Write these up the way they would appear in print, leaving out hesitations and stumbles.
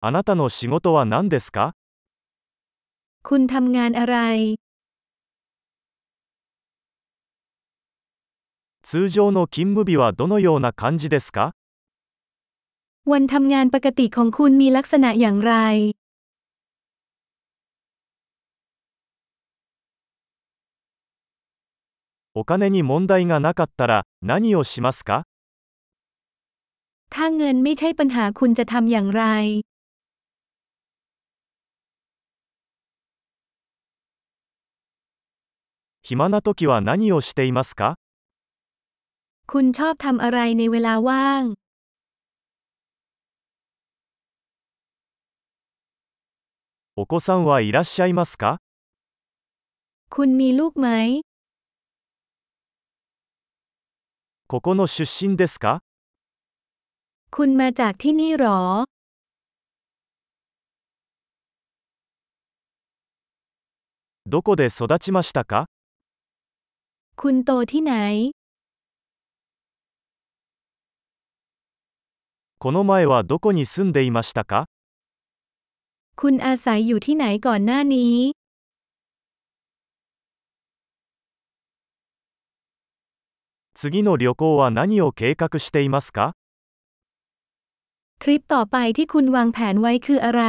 あなたの仕事は何ですか？ คุณทำงานอะไร通常の勤務日はどのような感じですか？ วันทำงานปกติของคุณมีลักษณะอย่างไรお金に問題がなかったら何をしますか？ ถ้าเงินไม่ใช่ปัญหาคุณจะทำอย่างไร暇な時は何をしていますか？ คุณชอบทำอะไรในเวลาว่างお子さんはいらっしゃいますか？ คุณมีลูกไหมここの出身ですか？ คุณมาจากที่นี่หรอどこで育ちましたか？ คุณโตที่ไหนこの前はどこに住んでいましたか？ คุณอาศัยอยู่ที่ไหนก่อนหน้านี้次の旅行は何を計画していますか？ ทริปต่อไปที่คุณวางแผนไว้คืออะไร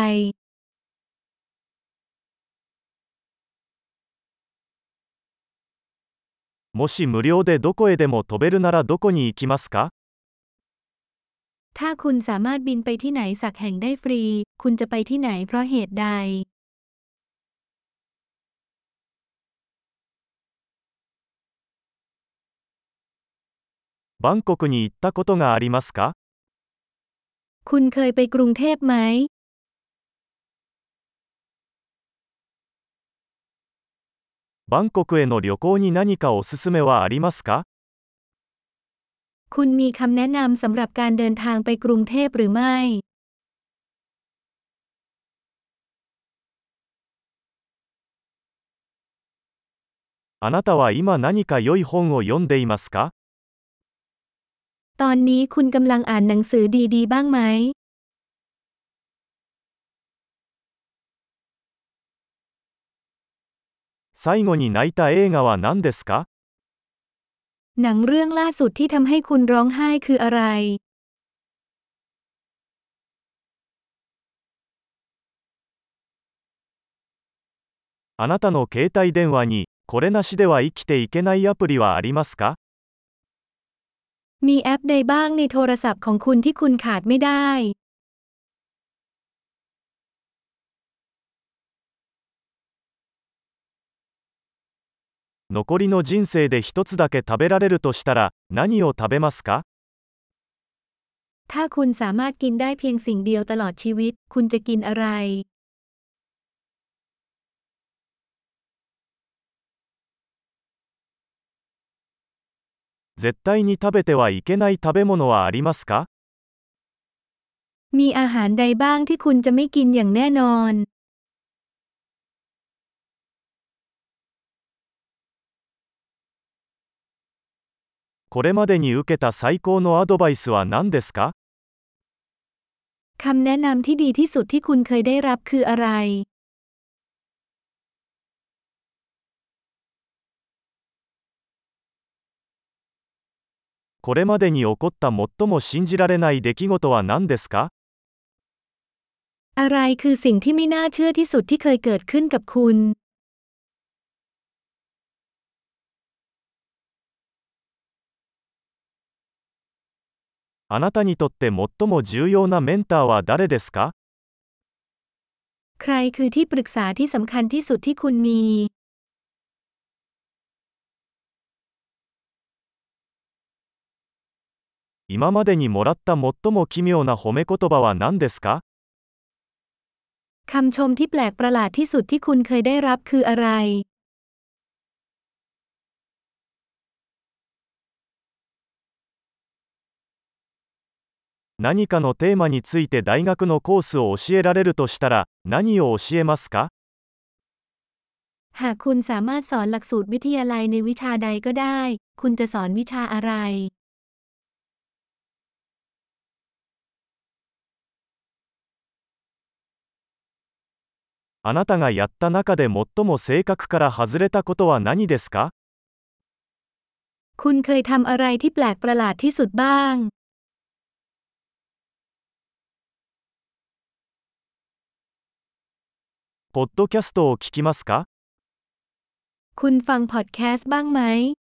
もし無料でどこへでも飛べるならどこに行きますか？ ถ้าคุณสามารถบินไปที่ไหนสักแห่งได้ฟรี คุณจะไปที่ไหนเพราะเหตุใดバンコクに行ったことがありますか？ คุณเคยไปกรุงเทพไหมバンコクへの旅行に何かおすすめはありますか？ คุณมีคำแนะนำสำหรับการเดินทางไปกรุงเทพหรือไม่あなたは今何か良い本を読んでいますか？ ตอนนี้คุณกำลังอ่านหนังสือดีๆบ้างไหม最後に泣いた映画は何ですか？ หนังเรื่องล่าสุดที่ทำให้คุณร้องไห้คืออะไรあなたの携帯電話にこれなしでは生きていけないアプリはありますか？ มีแอปใดบ้างในโทรศัพท์ของคุณที่คุณขาดไม่ได้残りの人生で一つだけ食べられるとしたら何を食べますか？ ถ้าคุณสามารถกินได้เพียงสิ่งเดียวตลอดชีวิต คุณจะกินอะไร絶対に食べてはいけない食べ物はありますか？ มีอาหารใดบ้างที่คุณจะไม่กินอย่างแน่นอนこれまでに受けた最高のアドバイスは何ですか？ คำแนะนำที่ดีที่สุดที่คุณเคยได้รับคืออะไรこれまでに起こった最も信じられない出来事は何ですか？ อะไรคือสิ่งที่ไม่น่าเชื่อที่สุดที่เคยเกิดขึ้นกับคุณあなたにとって最も重要なメンターは誰ですか？ ใครคือที่ปรึกษาที่สำคัญที่สุดที่คุณมี今までにもらった最も奇妙な褒め言葉は何ですか？ คำชมที่แปลกประหลาดที่สุดที่คุณเคยได้รับคืออะไร何かのテーマについて大学のコースを教えられるとしたら何を教えますか？ หากคุณสามารถสอนหลักสูตรวิทยาลัยในวิชาใดก็ได้ คุณจะสอนวิชาอะไรあなたがやった中で最も性格から外れたことは何ですか？ คุณเคยทำอะไรที่แปลกประหลาดที่สุดบ้างポッドキャストを聞きますか？ คุณฟังพอดแคสต์บ้างไหม